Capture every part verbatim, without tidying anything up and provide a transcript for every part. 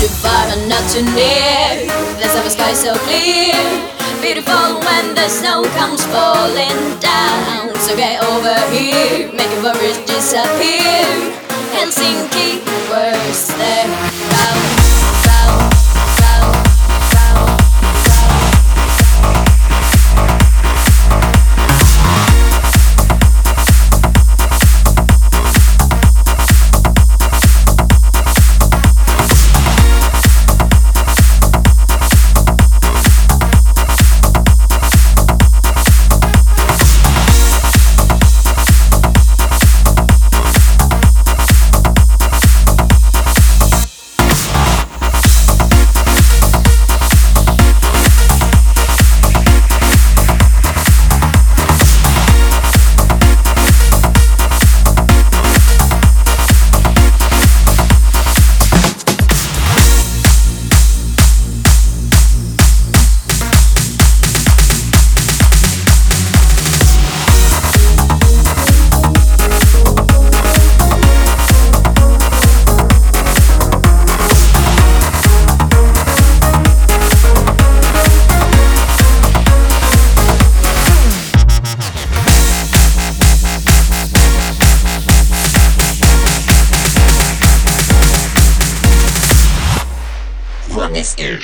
too far and not too near. The summer sky so clear, beautiful when the snow comes falling down. So get over here, make your worries disappear. Helsinki, worst there. Round, round, round, round, this is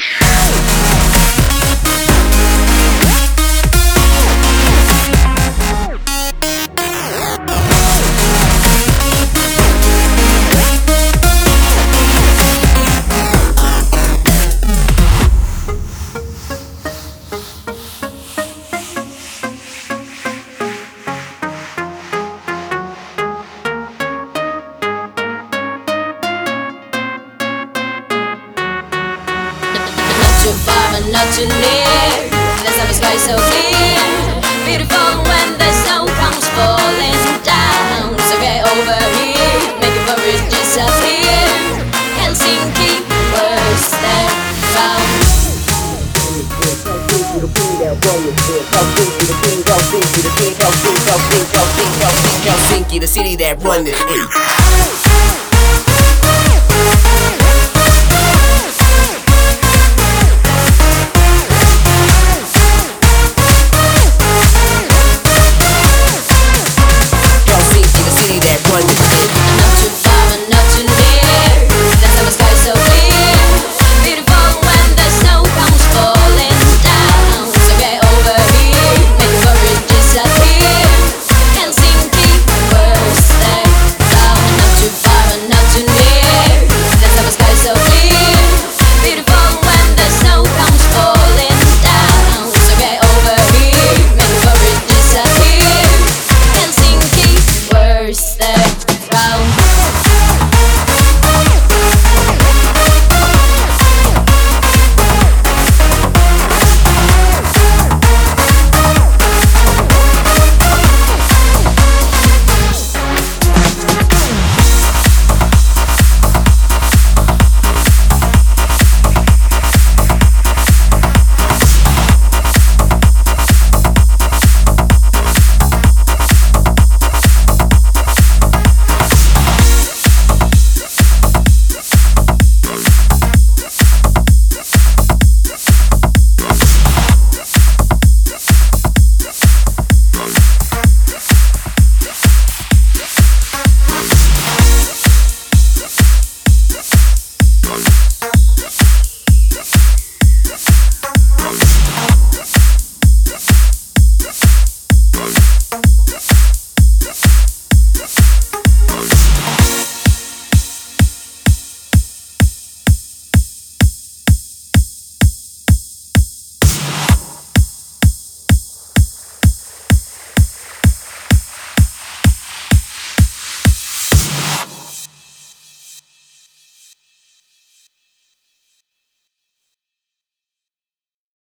too far and not too near. The summer sky so clear, beautiful when the snow comes falling down. So get over here, make your worries disappear. Helsinki, worst there. Round. Helsinki, the city that run this.